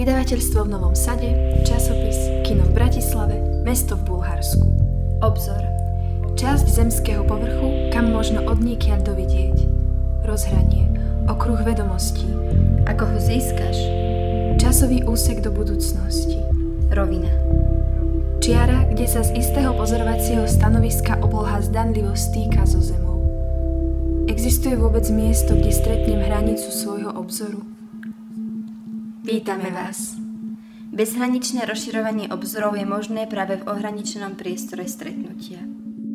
Vydavateľstvo v Novom Sade, časopis, kino v Bratislave, mesto v Bulharsku. Obzor. Časť zemského povrchu, kam možno odniekiaľ dovidieť. Rozhranie. Okruh vedomostí. Ako ho získaš? Časový úsek do budúcnosti. Rovina. Čiara, kde sa z istého pozorovacieho stanoviska obloha zdanlivo stýka so zemou. Existuje vôbec miesto, kde stretnem hranicu svojho obzoru? Vítame vás. Bezhraničné rozširovanie obzorov je možné práve v ohraničenom priestore stretnutia.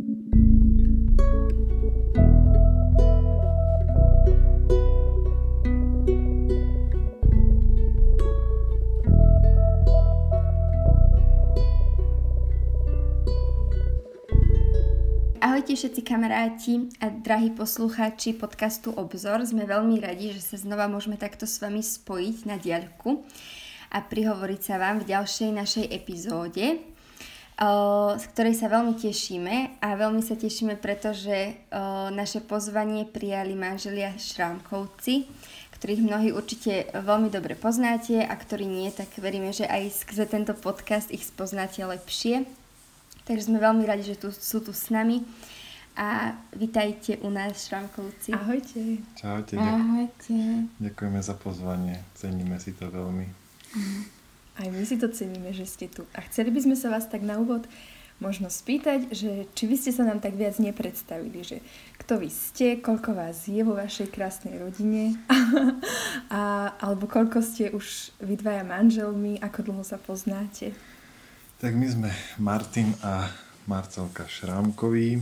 Ahojte všetci kamaráti a drahí poslucháči podcastu Obzor. Sme veľmi radi, že sa znova môžeme takto s vami spojiť na diaľku a prihovoriť sa vám v ďalšej našej epizóde, z ktorej sa veľmi tešíme a veľmi sa tešíme, pretože naše pozvanie prijali manželia Šrámkovci, ktorých mnohí určite veľmi dobre poznáte a ktorí nie, tak veríme, že aj skrze tento podcast ich spoznáte lepšie. Takže sme veľmi radi, že sú tu s nami a vitajte u nás, Šrámkovci. Ahojte. Čaute. Ahojte. Ďakujeme za pozvanie, ceníme si to veľmi. Aj my si to ceníme, že ste tu. A chceli by sme sa vás tak na úvod možno spýtať, že či by ste sa nám tak viac nepredstavili, že kto vy ste, koľko vás je vo vašej krásnej rodine, alebo koľko ste už vy dvaja manželmi, ako dlho sa poznáte. Tak my sme Martin a Marcelka Šrámkoví.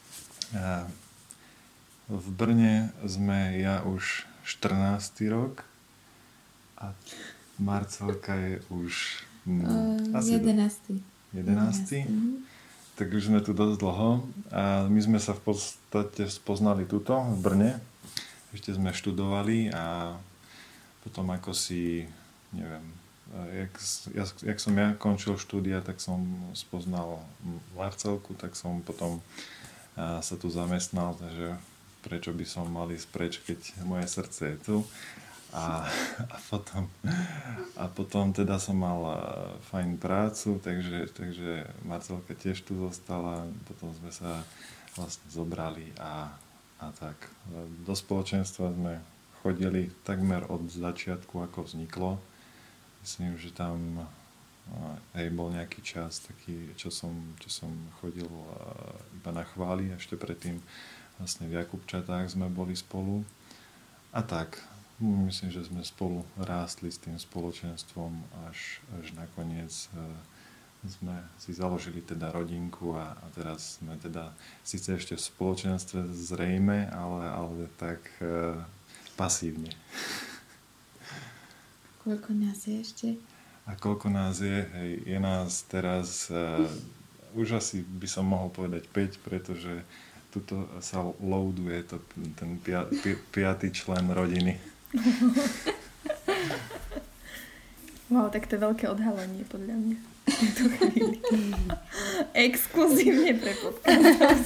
V Brne sme ja už 14. rok a Marcelka je už asi 11. 11. Tak už sme tu dosť dlho a my sme sa v podstate spoznali tuto v Brne. Ešte sme študovali a potom ako si, neviem, jak som ja končil štúdia, tak som spoznal Marcelku, tak som potom sa tu zamestnal, takže prečo by som mal ísť preč, keď moje srdce je tu. A potom teda som mal fajn prácu, takže Marcelka tiež tu zostala, potom sme sa vlastne zobrali a tak. Do spoločenstva sme chodili takmer od začiatku, ako vzniklo. Myslím, že tam bol nejaký čas taký, čo som chodil iba na chvály, ešte predtým vlastne v Jakubčatách sme boli spolu. A tak, myslím, že sme spolu rástli s tým spoločenstvom, až nakoniec sme si založili teda rodinku a teraz sme teda síce ešte v spoločenstve zrejme, ale tak pasívne. Koľko nás je ešte? A koľko nás je? Hej, je nás teraz, už asi by som mohol povedať 5, pretože tuto sa loaduje ten piatý člen rodiny. Wow, tak to je veľké odhalenie podľa mňa. Exkluzívne pre podcast.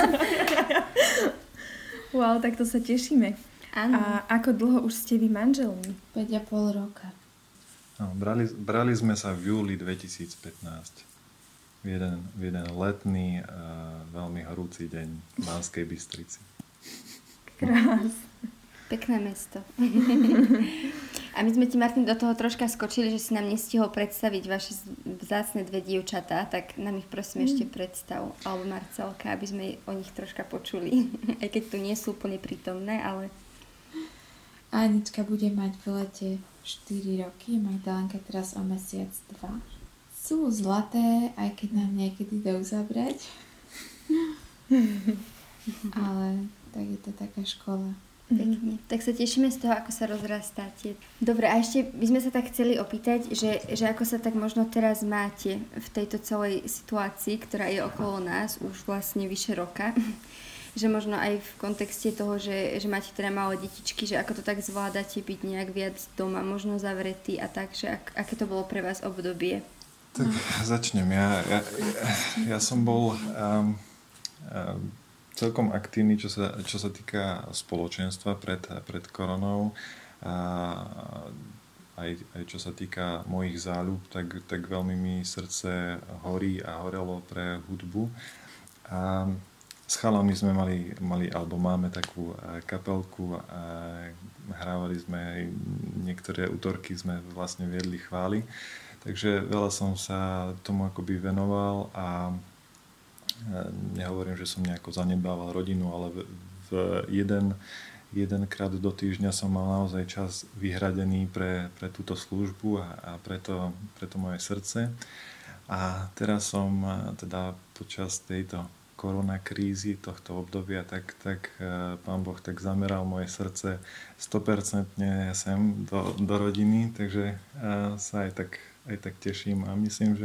Wow, tak to sa tešíme. Áno. A ako dlho už ste vy manželmi? 5,5 roka. No, brali sme sa v júli 2015. V jeden letný, veľmi horúci deň v Banskej Bystrici. Krásne. Pekné mesto. A my sme ti, Martin, do toho troška skočili, že si nám nestihol predstaviť vaše vzácne dve dievčatá, tak nám ich prosím ešte predstav, alebo Marcelka, aby sme o nich troška počuli. Aj keď tu nie sú úplne prítomné, ale... Anička bude mať v lete 4 roky, Magdalenka teraz o mesiac 2. Sú zlaté, aj keď nám niekedy dajú zabrať. Ale tak je to taká škola. Pekne. Tak sa tešíme z toho, ako sa rozrastáte. Dobre, a ešte by sme sa tak chceli opýtať, že ako sa tak možno teraz máte v tejto celej situácii, ktorá je okolo nás už vlastne vyše roka. Že možno aj v kontexte toho, že máte teda malé detičky, že ako to tak zvládate byť nejak viac doma, možno zavretý a tak, že aké to bolo pre vás obdobie? Tak začnem. Ja som bol celkom aktívny, čo sa týka spoločenstva pred koronou. aj čo sa týka mojich záľub, tak veľmi mi srdce horí a horelo pre hudbu. A s chalami sme mali alebo máme takú kapelku a hrávali sme, niektoré útorky sme vlastne viedli chvály. Takže veľa som sa tomu akoby venoval a nehovorím, že som nejako zanedbával rodinu, ale jedenkrát do týždňa som mal naozaj čas vyhradený pre túto službu a preto moje srdce. A teraz som teda počas tejto koronakrízy, tohto obdobia, tak Pán Boh tak zameral moje srdce 100% sem do rodiny, takže sa aj tak teším a myslím,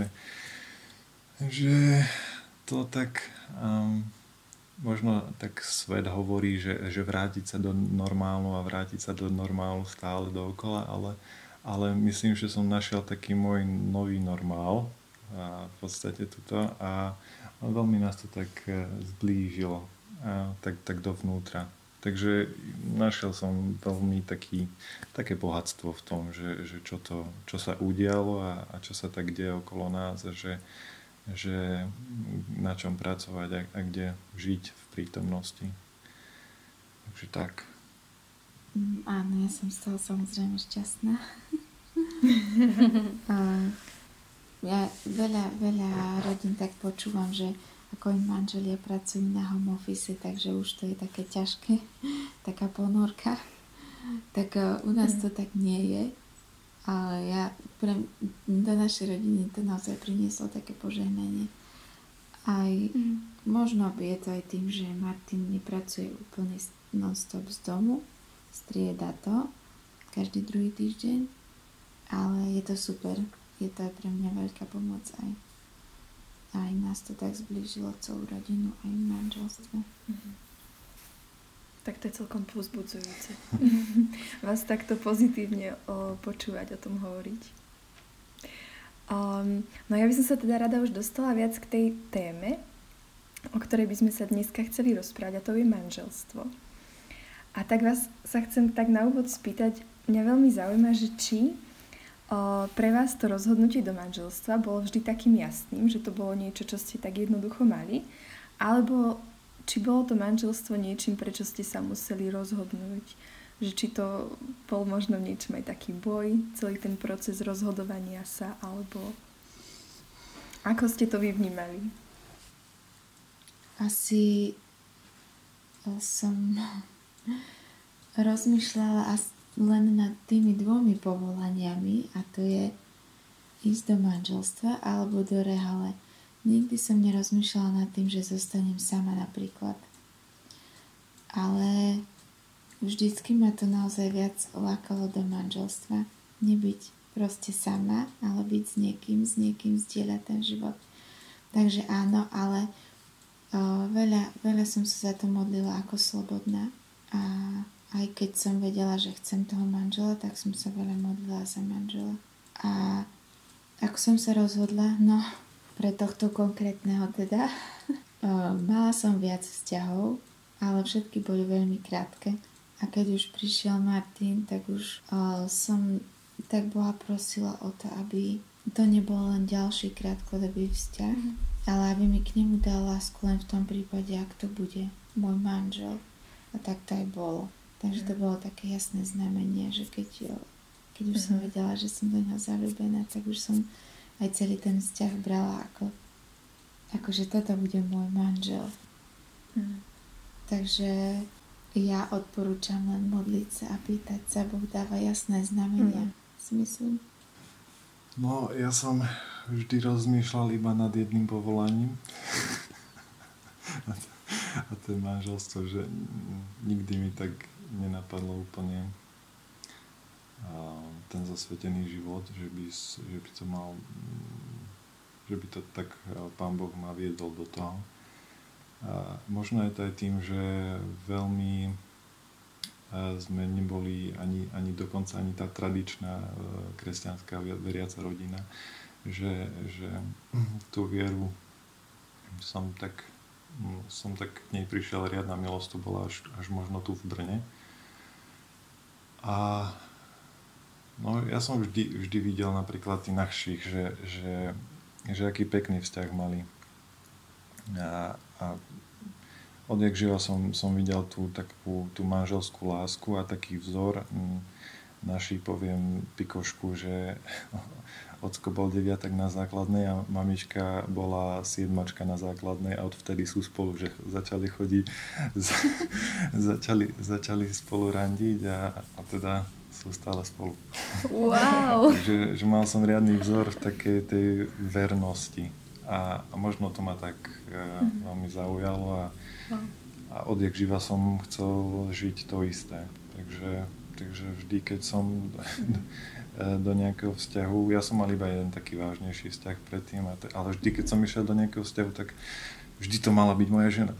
že to tak možno tak svet hovorí, že vrátiť sa do normálu a vrátiť sa do normálu stále dookola, ale myslím, že som našiel taký môj nový normál v podstate tuto a veľmi nás to tak zblížilo tak dovnútra. Takže našiel som veľmi také bohatstvo v tom, že čo sa udialo a čo sa tak deje okolo nás a že na čom pracovať a kde žiť v prítomnosti. Takže tak. Áno, ja som z toho samozrejme šťastná. Ja veľa rodín tak počúvam, že ako im manželia pracujú na home office, takže už to je také ťažké, taká ponorka. Tak u nás to tak nie je. Ale do našej rodiny to naozaj prinieslo také požehnanie. Aj možno je to aj tým, že Martin nepracuje úplne non-stop z domu, strieda to každý druhý týždeň, ale je to super. Je to aj pre mňa veľká pomoc aj nás to tak zblížilo celú rodinu, aj manželstvo. Tak to je celkom povzbudzujúce. Vás takto pozitívne počúvať, o tom hovoriť. No ja by som sa teda rada už dostala viac k tej téme, o ktorej by sme sa dneska chceli rozprávať, a to je manželstvo. A tak vás sa chcem tak na úvod spýtať, mňa veľmi zaujíma, že či pre vás to rozhodnutie do manželstva bolo vždy takým jasným, že to bolo niečo, čo ste tak jednoducho mali, alebo či bolo to manželstvo niečím, prečo ste sa museli rozhodnúť, že či to bol možno v niečom aj taký boj, celý ten proces rozhodovania sa, alebo ako ste to vy vnímali? Asi som rozmýšľala len nad tými dvomi povolaniami, a to je ísť do manželstva alebo do rehole. Nikdy som nerozmýšľala nad tým, že zostanem sama napríklad. Ale vždycky ma to naozaj viac lákalo do manželstva. Nebyť proste sama, ale byť s niekým zdieľať ten život. Takže áno, ale veľa som sa za to modlila ako slobodná. A aj keď som vedela, že chcem toho manžela, tak som sa veľa modlila za manžela. A ako som sa rozhodla, pre tohto konkrétneho teda, mala som viac vzťahov, ale všetky boli veľmi krátke. A keď už prišiel Martin, tak už som tak Boha prosila o to, aby to nebol len ďalší krátkodobý vzťah, ale aby mi k nemu dal lásku len v tom prípade, ak to bude môj manžel. A tak to aj bolo. Takže to bolo také jasné znamenie, že keď už som vedela, že som do neho zaľúbená, tak už som aj celý ten vzťah brala ako že toto bude môj manžel. Takže ja odporúčam len modliť sa a pýtať sa, Boh dáva jasné znamenia, si myslím. No, ja som vždy rozmýšľal iba nad jedným povolaním. A to je manželstvo, že nikdy mi tak nenapadlo úplne ten zasvetený život, že by to mal, že by to tak Pán Boh ma viedol do toho. A možno je to aj tým, že veľmi sme neboli ani dokonca ani tá tradičná kresťanská veriaca rodina, že tú vieru som tak k nej prišiel, riadna milosť to bola až možno tu v Brne. A ja som vždy videl napríklad tých našich, že aký pekný vzťah mali. A odjak živa som videl tú manželskú lásku a taký vzor. Naši, poviem Pikošku, že ocko bol 9 na základnej a mamička bola 7 na základnej a odvtedy sú spolu, že začali chodiť, začali spolu randiť a teda sú stále spolu. Wow! Takže že mal som riadny vzor v takej tej vernosti a možno to ma tak veľmi zaujalo a odjak živa som chcel žiť to isté. Takže vždy, keď som do nejakého vzťahu, ja som mal iba jeden taký vážnejší vzťah predtým, ale vždy, keď som išiel do nejakého vzťahu, tak vždy to mala byť moja žena.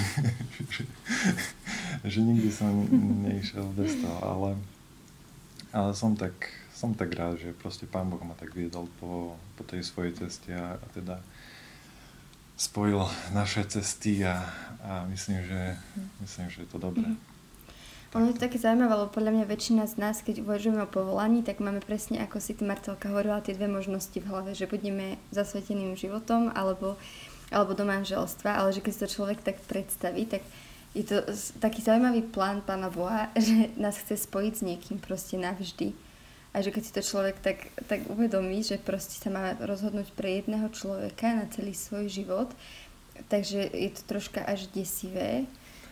že nikdy som neišiel bez toho, ale som tak rád, že proste Pán Boh ma tak viedol po tej svojej ceste a teda spojil naše cesty a myslím, že je to dobré. Ono je to také zaujímavé, lebo podľa mňa väčšina z nás, keď uvažujeme o povolaní, tak máme presne, ako si ty, Marcelka, hovorila, tie dve možnosti v hlave, že budeme zasveteným životom alebo do manželstva, ale že keď si to človek tak predstaví, tak je to taký zaujímavý plán Pána Boha, že nás chce spojiť s niekým proste navždy. A že keď si to človek tak uvedomí, že proste sa má rozhodnúť pre jedného človeka na celý svoj život, takže je to troška až desivé.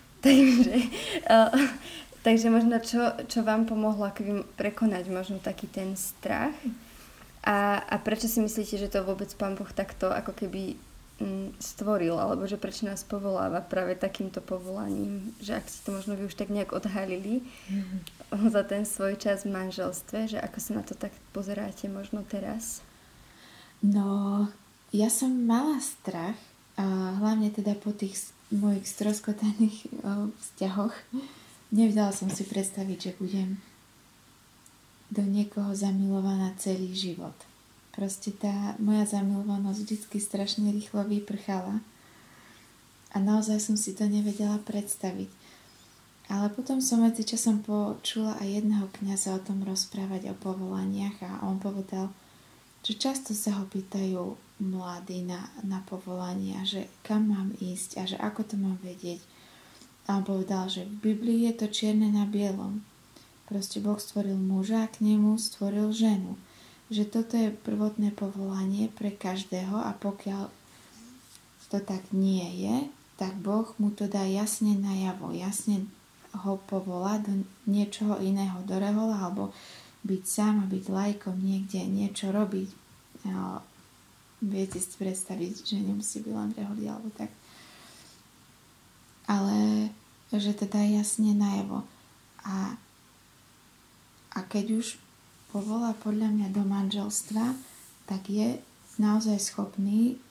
Takže možno čo vám pomohlo akoby prekonať možno taký ten strach a prečo si myslíte, že to vôbec Pán Boh takto ako keby stvoril, alebo že prečo nás povoláva práve takýmto povolaním, že ak si to možno vy už tak nejak odhalili za ten svoj čas v manželstve, že ako sa na to tak pozeráte možno teraz? No, ja som mala strach, hlavne teda po tých mojich stroskotaných vzťahoch. Nevedela som si predstaviť, že budem do niekoho zamilovaná celý život. Proste tá moja zamilovanosť vždycky strašne rýchlo vyprchala a naozaj som si to nevedela predstaviť. Ale potom som medzičasom počula aj jedného kňaza o tom rozprávať o povolaniach a on povedal, že často sa ho pýtajú mladí na povolania, že kam mám ísť a že ako to mám vedieť. A on povedal, že v Biblii je to čierne na bielom. Proste Boh stvoril muža a k nemu stvoril ženu. Že toto je prvotné povolanie pre každého a pokiaľ to tak nie je, tak Boh mu to dá jasne najavo. Jasne ho povolá do niečoho iného, do rehola, alebo byť sám a byť lajkom niekde, niečo robiť. Viete si predstaviť, že nemusí byť len reholi alebo tak. Ale že to dá jasne najavo. A keď už povolá podľa mňa do manželstva, tak je naozaj schopný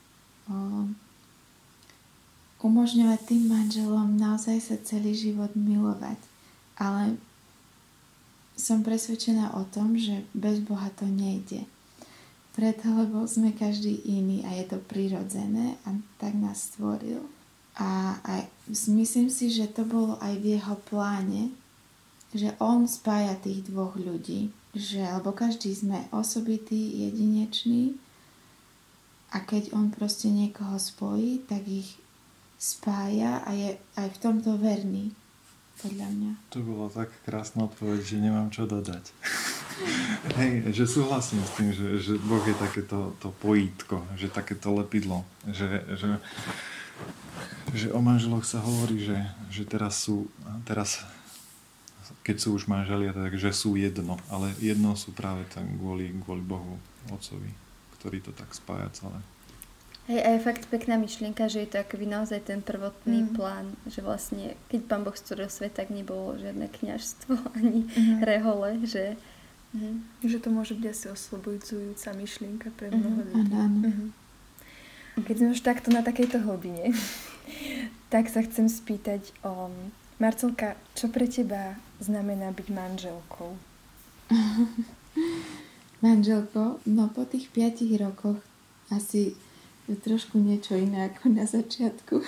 umožňovať tým manželom naozaj sa celý život milovať. Ale som presvedčená o tom, že bez Boha to nejde. Preto, lebo sme každý iný a je to prirodzené a tak nás stvoril. A myslím si, že to bolo aj v jeho pláne, že on spája tých dvoch ľudí, lebo každý sme osobitý, jedinečný a keď on proste niekoho spojí, tak ich spája a je aj v tomto verný, podľa mňa. To bola tak krásna odpoveď, že nemám čo dodať. Hej, že súhlasím s tým, že Boh je takéto to pojítko, že takéto lepidlo, že o manželoch sa hovorí, že teraz keď sú už manželia, takže sú jedno, ale jedno sú práve tam kvôli Bohu, Otcovi, ktorý to tak spája celé. Hej, a je fakt pekná myšlienka, že je to akoby naozaj ten prvotný plán, že vlastne, keď Pán Boh stvoril svet, tak nebolo žiadne kňažstvo ani rehole, že... Že to môže byť asi oslobojujúca myšlienka pre mnoho ľudí. Keď sme už takto na takejto hlbine, tak sa chcem spýtať, Marcelka, čo pre teba znamená byť manželkou? Manželkou? No po tých 5 rokoch asi je trošku niečo iné ako na začiatku.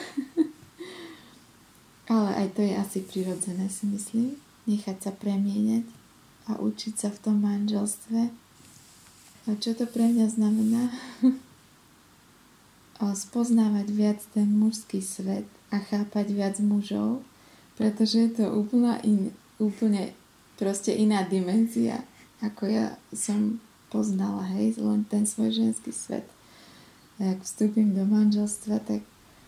Ale aj to je asi prirodzené, si myslím. Nechať sa premieňať. a učiť sa v tom manželstve. A čo to pre mňa znamená? Spoznávať viac ten mužský svet a chápať viac mužov, pretože je to úplne proste iná dimenzia, ako ja som poznala, hej, len ten svoj ženský svet. A ak vstúpim do manželstva, tak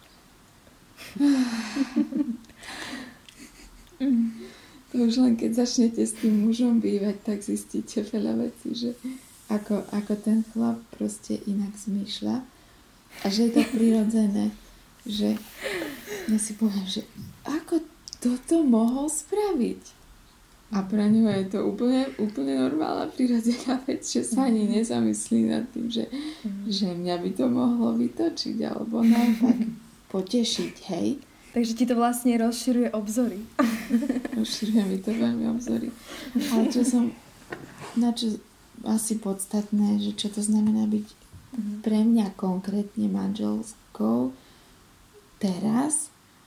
to už len keď začnete s tým mužom bývať, tak zistíte veľa vecí, že ako ten chlap proste inak zmýšľa a že je to prirodzené, že ja si poviem, že ako toto mohol spraviť? A pre ňu je to úplne normálna prirodzená vec, že sa ani nezamyslí nad tým, že mňa by to mohlo vytočiť alebo naopak potešiť, hej? Takže ti to vlastne rozširuje obzory. Rozširuje mi to veľmi obzory. Ale na čo asi podstatné, že čo to znamená byť pre mňa konkrétne manželskou teraz,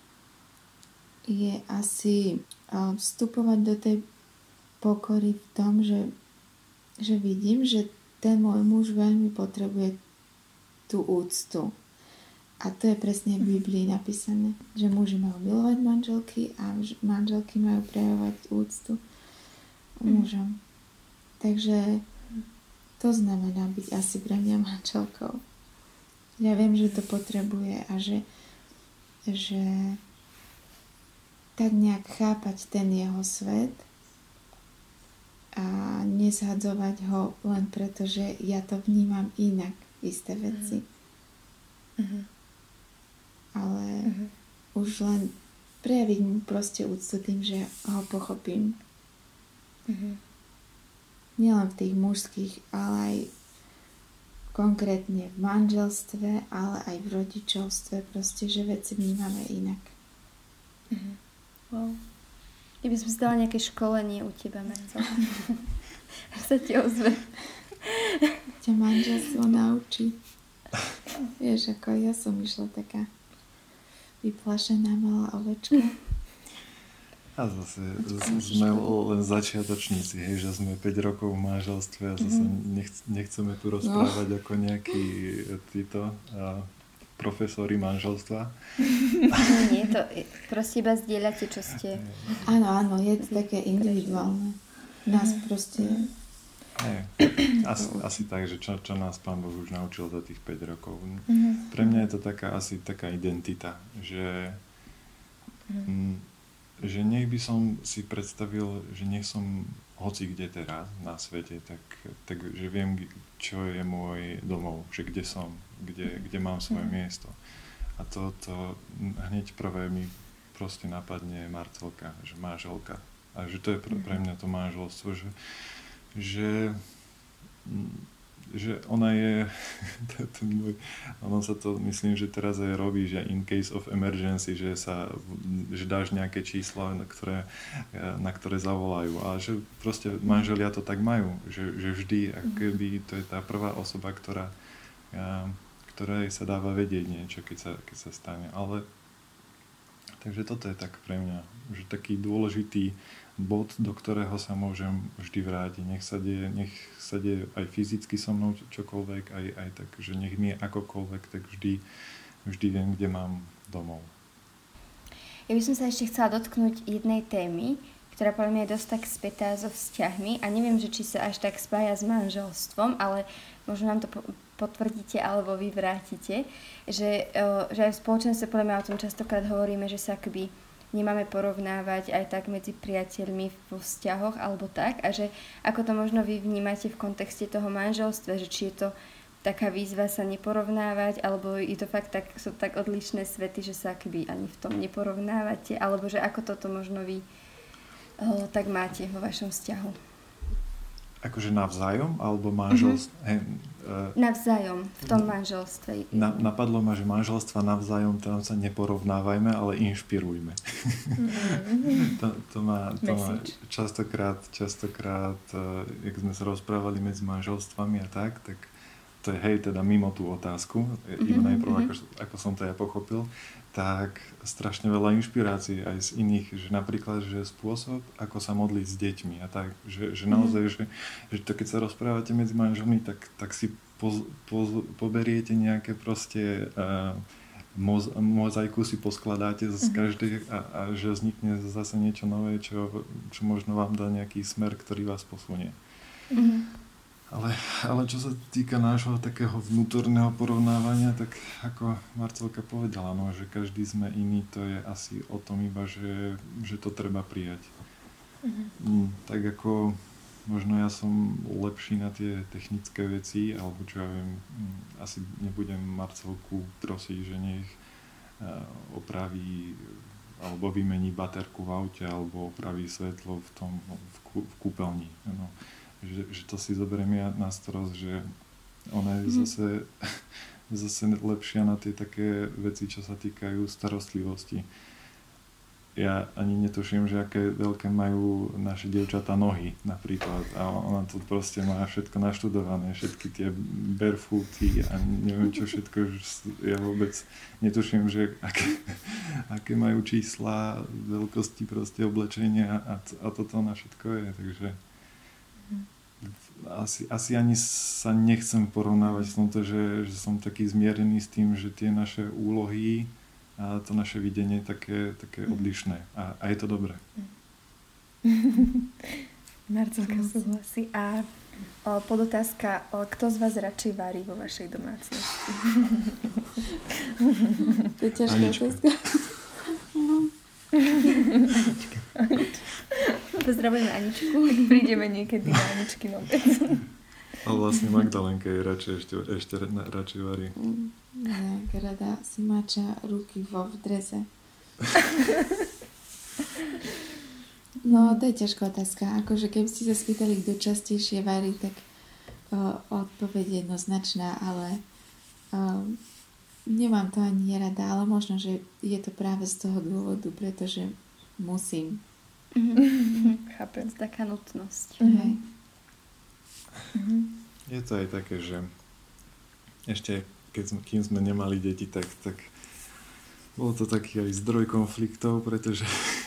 je asi vstupovať do tej pokory v tom, že vidím, že ten môj muž veľmi potrebuje tú úctu. A to je presne v Biblii napísané, že muži majú milovať manželky a manželky majú prejavovať úctu mužom. Takže to znamená byť asi pre mňa manželkou. Ja viem, že to potrebuje a že tak nejak chápať ten jeho svet a nezhadzovať ho len preto, že ja to vnímam inak, isté veci. Ale už len prejaviť mu proste úctu tým, že ho pochopím. Nielen v tých mužských, ale aj konkrétne v manželstve, ale aj v rodičovstve, proste, že veci vnímame inak. Wow. Ja by som si dala nejaké školenie u teba, Marcel. Až sa ti ozve. Ťa manželstvo naučí. Vieš, ako ja som išla taká vyplašená malá ovečka. A zase sme len začiatočníci, hej, že sme 5 rokov v manželstve a zase nechceme tu rozprávať ako nejakí títo profesori manželstva. Nie, to proste iba zdieľate, čo ste. Áno, je to také individuálne. Nás proste... Asi tak, že čo nás Pán Boh už naučil za tých 5 rokov. Pre mňa je to asi taká identita, že nech by som si predstavil, že nech som hoci kde teraz na svete, tak že viem, čo je môj domov, že kde som, kde mám svoje miesto. A to hneď prvé mi proste napadne Marcelka, že manželka. A že to je pre mňa to manželstvo, že ona je, ono sa to, myslím, že teraz aj robí, že in case of emergency, že dáš nejaké číslo, na ktoré zavolajú. A že proste manželia to tak majú, že vždy, akoby to je tá prvá osoba, ktorej sa dáva vedieť niečo, keď sa stane. Ale takže toto je tak pre mňa, že taký dôležitý bod, do ktorého sa môžem vždy vrátiť. Nech sa deje aj fyzicky so mnou čokoľvek, aj tak, že nech mi je akokoľvek, tak vždy viem, kde mám domov. Ja by som sa ešte chcela dotknúť jednej témy, ktorá podľa mňa je dosť tak spätá so vzťahmi a neviem, že či sa až tak spája s manželstvom, ale možno nám to potvrdíte alebo vyvrátite, že aj v spoločenstve podľa mňa o tom častokrát hovoríme, že sa akoby nemáme porovnávať aj tak medzi priateľmi vo vzťahoch alebo tak a že ako to možno vy vnímate v kontexte toho manželstva, že či je to taká výzva sa neporovnávať alebo je to fakt sú tak odlišné svety, že sa akoby ani v tom neporovnávate alebo že ako toto možno vy tak máte vo vašom vzťahu. Akože navzájom alebo manželstvo? Navzájom, v tom manželstve. Napadlo ma, že manželstva navzájom tam sa neporovnávajme, ale inšpirujme. To má častokrát, jak sme sa rozprávali medzi manželstvami a tak to je hej, teda mimo tú otázku, iba najprv, ako som to ja pochopil, tak strašne veľa inšpirácií aj z iných, že napríklad, že spôsob, ako sa modliť s deťmi a tak, že naozaj, že to keď sa rozprávate medzi manželmi, tak si poberiete nejaké proste mozaiku si poskladáte z každej a že vznikne zase niečo nové, čo možno vám dá nejaký smer, ktorý vás posunie. Ale čo sa týka nášho takého vnútorného porovnávania, tak ako Marcelka povedala, no, že každý sme iný, to je asi o tom iba, že to treba prijať. Tak ako možno ja som lepší na tie technické veci, alebo čo ja viem, asi nebudem Marcelku prosiť, že nech opraví alebo vymení baterku v aute, alebo opraví svetlo v kúpeľni. No. Že to si zoberiem ja na starosť, že ona je zase lepšia na tie také veci, čo sa týkajú starostlivosti. Ja ani netuším, že aké veľké majú naše dievčatá nohy napríklad a ona to proste má všetko naštudované, všetky tie barefooty a neviem čo všetko, ja vôbec netuším, že aké majú čísla, veľkosti proste oblečenia a toto na všetko je, takže asi ani sa nechcem porovnávať v tomto, že som taký zmierený s tým, že tie naše úlohy a to naše videnie je také odlišné. A je to dobré. Marcelka súhlasí. A podotázka, kto z vás radšej varí vo vašej domácnosti? To je ťažká otázka. Pozdravujeme Aničku. Tak prídeme niekedy na Aničky vôbec. Ale vlastne Magdalenka je radšej ešte radšej varí. Tak rada si mača ruky v drese. No, to je ťažká otázka. Akože keby ste sa spýtali, kto častejšie varí, tak odpoveď je jednoznačná, ale nemám to ani rada, ale možno, že je to práve z toho dôvodu, pretože musím. Chápem. Taká nutnosť. Je to aj také, že ešte kým sme nemali deti, tak bol to taký aj zdroj konfliktov, pretože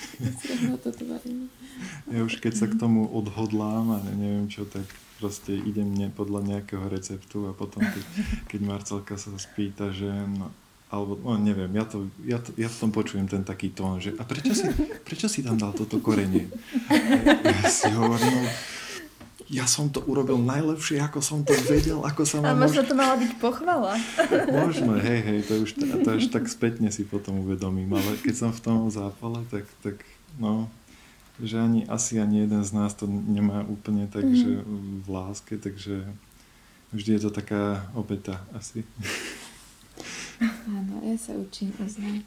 ja už keď sa k tomu odhodlám a neviem čo, tak proste idem podľa nejakého receptu a potom keď Marcelka sa spýta, že no, alebo neviem, ja v tom počujem ten taký tón, že a prečo si tam dal toto korenie? Ja si hovorím, ja som to urobil najlepšie, ako som to vedel, ako sa ma... Ale možno to mala byť pochvala. Možno, hej, to až tak spätne si potom uvedomím, ale keď som v tom zápale, tak no, že asi ani jeden z nás to nemá úplne tak, že v láske, takže vždy je to taká obeta asi. Áno, ja sa učím uznať.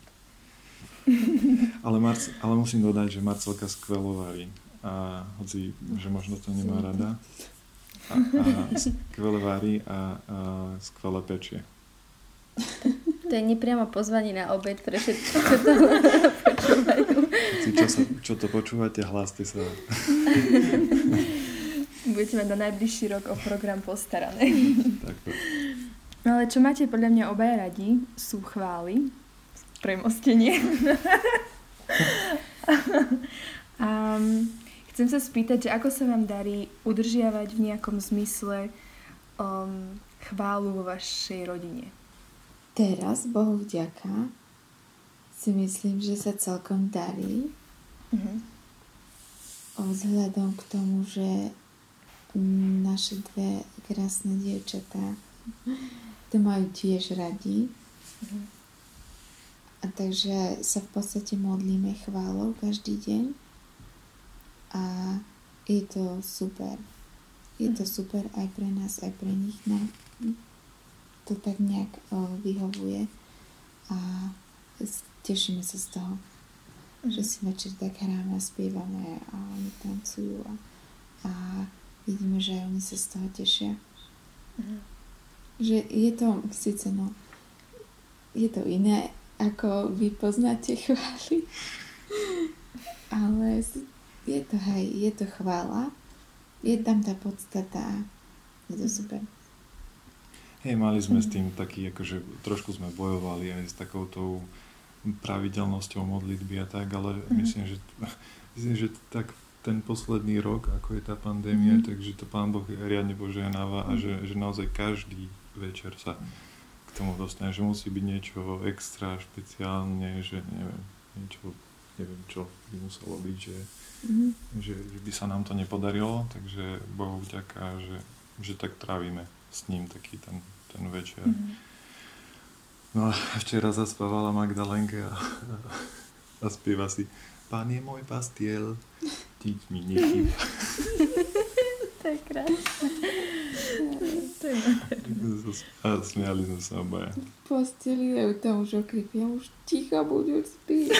Ale musím dodať, že Marcelka skvelo varí. A hoci, že možno to nemá rada. A skvele varí a skvele pečie. To je nepriamo pozvanie na obed pre všetko, čo to počúvajú. Čo to počúvate, hláste sa. Budete mať na najbližší rok o program postarané. Tak. No ale čo máte podľa mňa obaja radi, sú chvály, premostenie. Chcem sa spýtať, že ako sa vám darí udržiavať v nejakom zmysle chválu vo vašej rodine? Teraz, Bohu vďaka, si myslím, že sa celkom darí. Vzhľadom k tomu, že naše dve krásne dievčatá to majú tiež radi. A takže sa v podstate modlíme chválou každý deň. A je to super. Je to super aj pre nás, aj pre nich. No, to tak nejak vyhovuje a tešíme sa z toho, že si večer tak hráme a spievame a oni tancujú a vidíme, že aj oni sa z toho tešia. Že je to síce je to iné, ako vy poznáte chvály, ale je to chvála, je tam tá podstata, je to super. Hej, mali sme s tým taký, akože trošku sme bojovali aj s takoutou pravidelnosťou modlitby a tak, ale myslím, že tak ten posledný rok, ako je tá pandémia, takže to Pán Boh riadne požehnáva a že naozaj každý večer sa k tomu dostane, že musí byť niečo extra, špeciálne, že neviem čo by muselo byť, že by sa nám to nepodarilo, takže Bohu vďaka, že tak trávime s ním taký ten večer. No a včera zaspávala Magdalenka a spieva si Pán je môj pastiel, nič mi nechýba. To je krásne. A smiali sme sa obaja. Posteli, ja tam už okripia, už ticho budú spieť.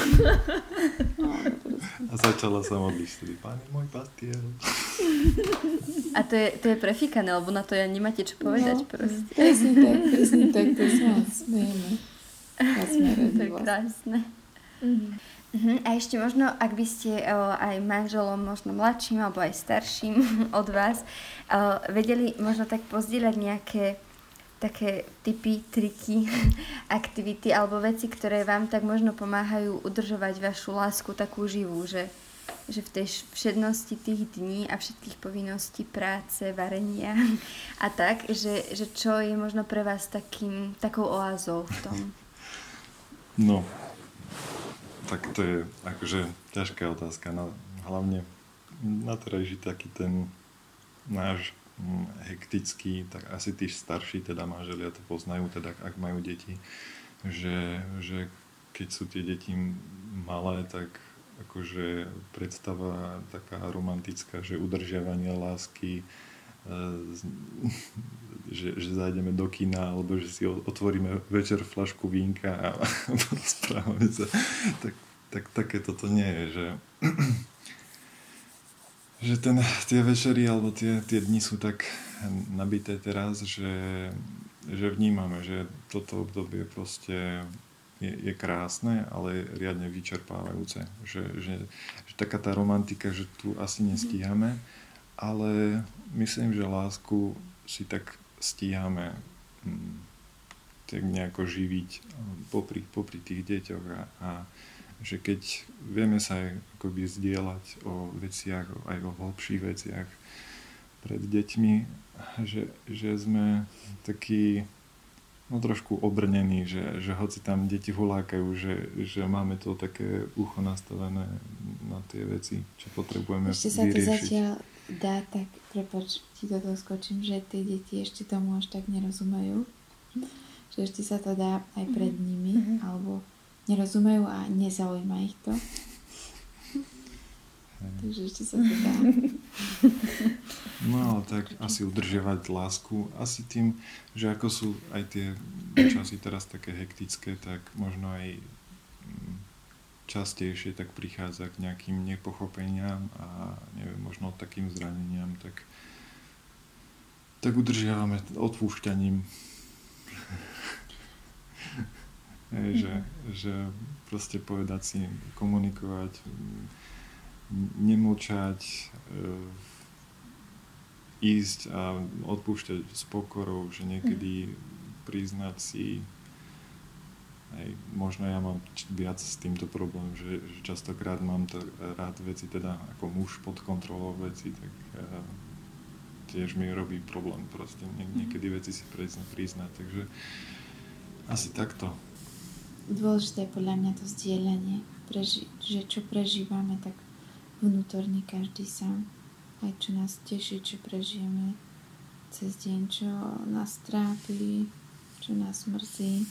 A začala sa modliť vtedy, Pán je môj pastiel. A to je prefíkané, lebo na to ja nemáte čo povedať proste. Presne tak, to sa smejeme. To je krásne. A ešte možno, ak by ste aj manželom, možno mladším alebo aj starším od vás, vedeli možno tak pozdieľať nejaké také typy, triky, aktivity alebo veci, ktoré vám tak možno pomáhajú udržovať vašu lásku takú živú, že v tej všednosti tých dní a všetkých povinností práce, varenia a tak, že čo je možno pre vás takou oázou v tom? No, tak to je akože ťažká otázka. No, hlavne na terajší taký ten náš hektický, tak asi tí starší teda manželia to poznajú, teda ak majú deti, že keď sú tie deti malé, tak akože predstava taká romantická, že udržiavanie lásky, že zajdeme do kina, alebo že si otvoríme večer fľašku vínka a rozprávame sa. Tak takéto to nie je, že tie večery alebo tie dni sú tak nabité teraz, že vnímame, že toto obdobie proste je krásne, ale riadne vyčerpávajúce. Že taká tá romantika, že tu asi nestíhame, ale myslím, že lásku si tak stíhame tak nejako živiť popri tých deťoch a že keď vieme sa aj akoby zdieľať o veciach, aj o hlbších veciach pred deťmi, že sme takí trošku obrnení, že hoci tam deti hulákajú, že máme to také ucho nastavené na tie veci, čo potrebujeme vyriešiť. Ešte sa to zatiaľ dá tak, prepáč, ti do toho skočím, že tie deti ešte tomu až tak nerozumejú. Že ešte sa to dá aj pred nimi, alebo nerozumejú a nezaujíma ich to. Takže ešte sa to dá. No ale tak asi udržiavať lásku, asi tým, že ako sú aj tie časy teraz také hektické, tak možno aj častejšie tak prichádza k nejakým nepochopeniam a neviem, možno takým zraneniam, tak udržiavame odpúšťaním. Že proste povedať si, komunikovať, nemlčať, ísť a odpúšťať s pokorou, že niekedy priznať si, aj možno ja mám viac s týmto problém, že častokrát mám to rád veci, teda ako muž pod kontrolou veci, tak tiež mi robí problém proste niekedy veci si priznať, takže asi takto. Dôležité je podľa mňa to zdieľanie, že čo prežívame, tak vnútorne každý sám. Aj čo nás teší, čo prežijeme cez deň, čo nás trápi, čo nás mrzí,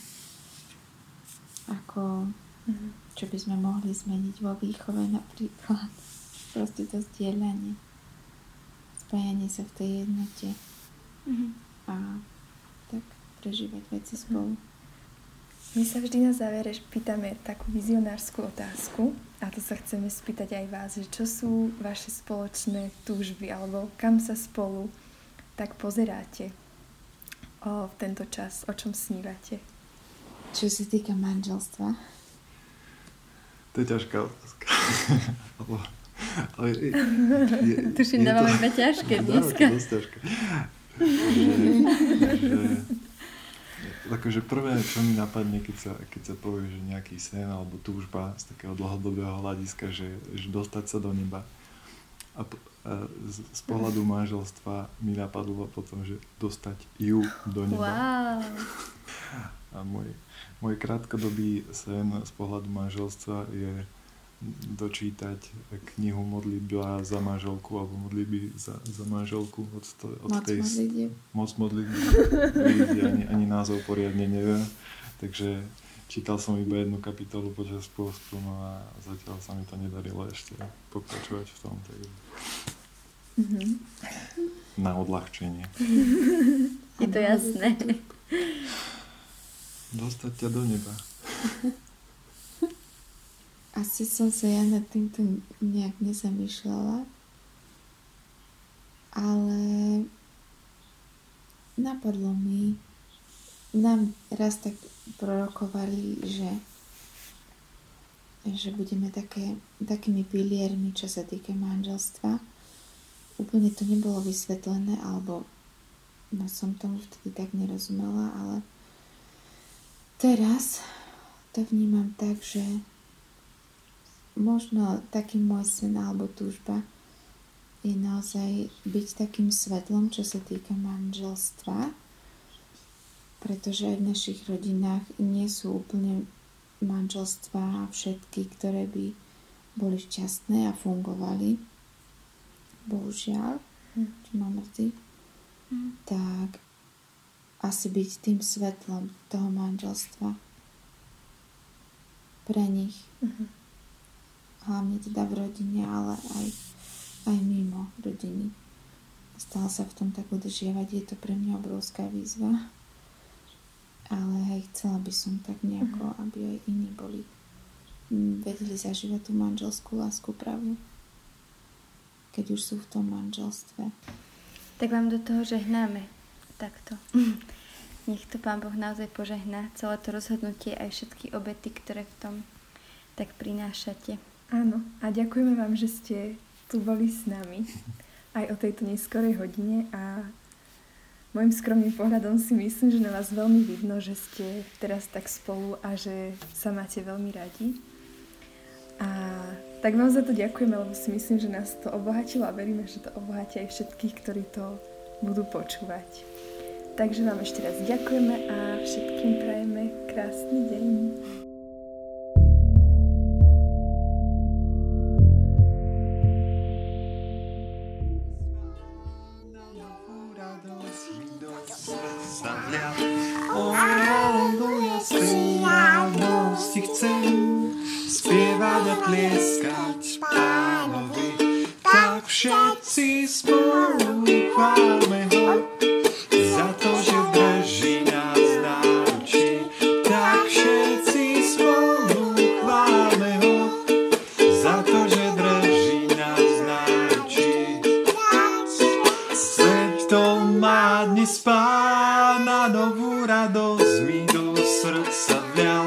ako čo by sme mohli zmeniť vo výchove napríklad. Proste to zdieľanie, spájanie sa v tej jednote a tak prežívať veci spolu. My sa vždy na závere pýtame takú vizionárskú otázku a to sa chceme spýtať aj vás, že čo sú vaše spoločné túžby alebo kam sa spolu tak pozeráte v tento čas, o čom snívate? Čo sa týka manželstva? To je ťažká otázka. Tuším, dávame iba ťažké dneska. Dosť ťažké. akože prvé, čo mi napadne, keď sa povie, že nejaký sen alebo túžba z takého dlhodobého hľadiska, že dostať sa do neba. A z pohľadu manželstva mi napadlo potom, že dostať ju do neba. Wow. A môj krátkodobý sen z pohľadu manželstva je dočítať knihu Modlitba za manželku alebo modlitby za manželku od tej moc modlitby. Ani názov poriadne neviem. Takže čítal som iba jednu kapitolu počas pôstu, no a zatiaľ sa mi to nedarilo ešte pokračovať v tom. Takže... Na odľahčenie. Je to jasné. Dostať ťa do neba. Asi som sa ja nad týmto nejak nezamýšľala, ale napadlo mi, nám raz tak prorokovali, že budeme takými piliermi, čo sa týka manželstva. Úplne to nebolo vysvetlené, alebo som tomu vtedy tak nerozumela, ale teraz to vnímam tak, že možno taký môj sen alebo túžba je naozaj byť takým svetlom, čo sa týka manželstva, pretože aj v našich rodinách nie sú úplne manželstvá všetky, ktoré by boli šťastné a fungovali. Bohužiaľ, čo ma mrzí. Tak asi byť tým svetlom toho manželstva pre nich. Hlavne teda v rodine, ale aj mimo rodiny. Stále sa v tom tak udržiavať, je to pre mňa obrovská výzva. Ale aj chcela by som tak nejako, aby aj iní vedeli zažívať tú manželskú lásku pravú, keď už sú v tom manželstve. Tak vám do toho žehnáme takto. Nech to Pán Boh naozaj požehná celé to rozhodnutie aj všetky obety, ktoré v tom tak prinášate. Áno, a ďakujeme vám, že ste tu boli s nami aj o tejto neskorej hodine a môjim skromným pohľadom si myslím, že na vás veľmi vidno, že ste teraz tak spolu a že sa máte veľmi radi. A tak vám za to ďakujeme, lebo si myslím, že nás to obohatilo a veríme, že to obohatí aj všetkých, ktorí to budú počúvať. Takže vám ešte raz ďakujeme a všetkým prajeme krásny deň. Chcem spievať a tlieskať Pánovi, tak všetci spolu chválme ho, za to, že drží nás na ruči. Tak všetci spolu chválme ho, za to, že drží nás na ruči. Svet to má dnes Pána, novú radosť mi do srdca vľal.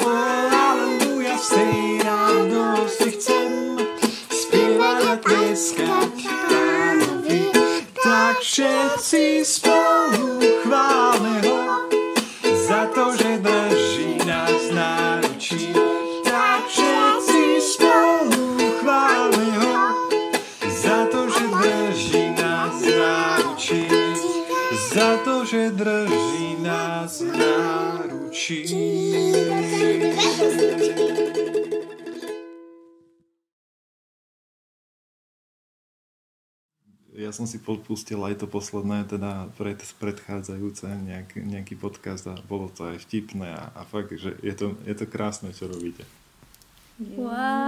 Z tej radosti chcem spievať a tlieskať Pánovi, tak všetci spolu chválme ho, za to, že drží nás na ruči. Tak všetci spolu chválme ho, za to, že drží nás na ruči. Za to, že drží nás na ruči. Ja som si podpustil aj to posledné, teda predchádzajúce nejaký podcast a bolo to aj vtipné a fakt, že je to krásne, čo robíte.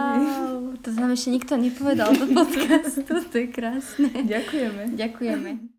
Wow, to nám ešte nikto nepovedal do podcastu, to je krásne. Ďakujeme. Ďakujeme.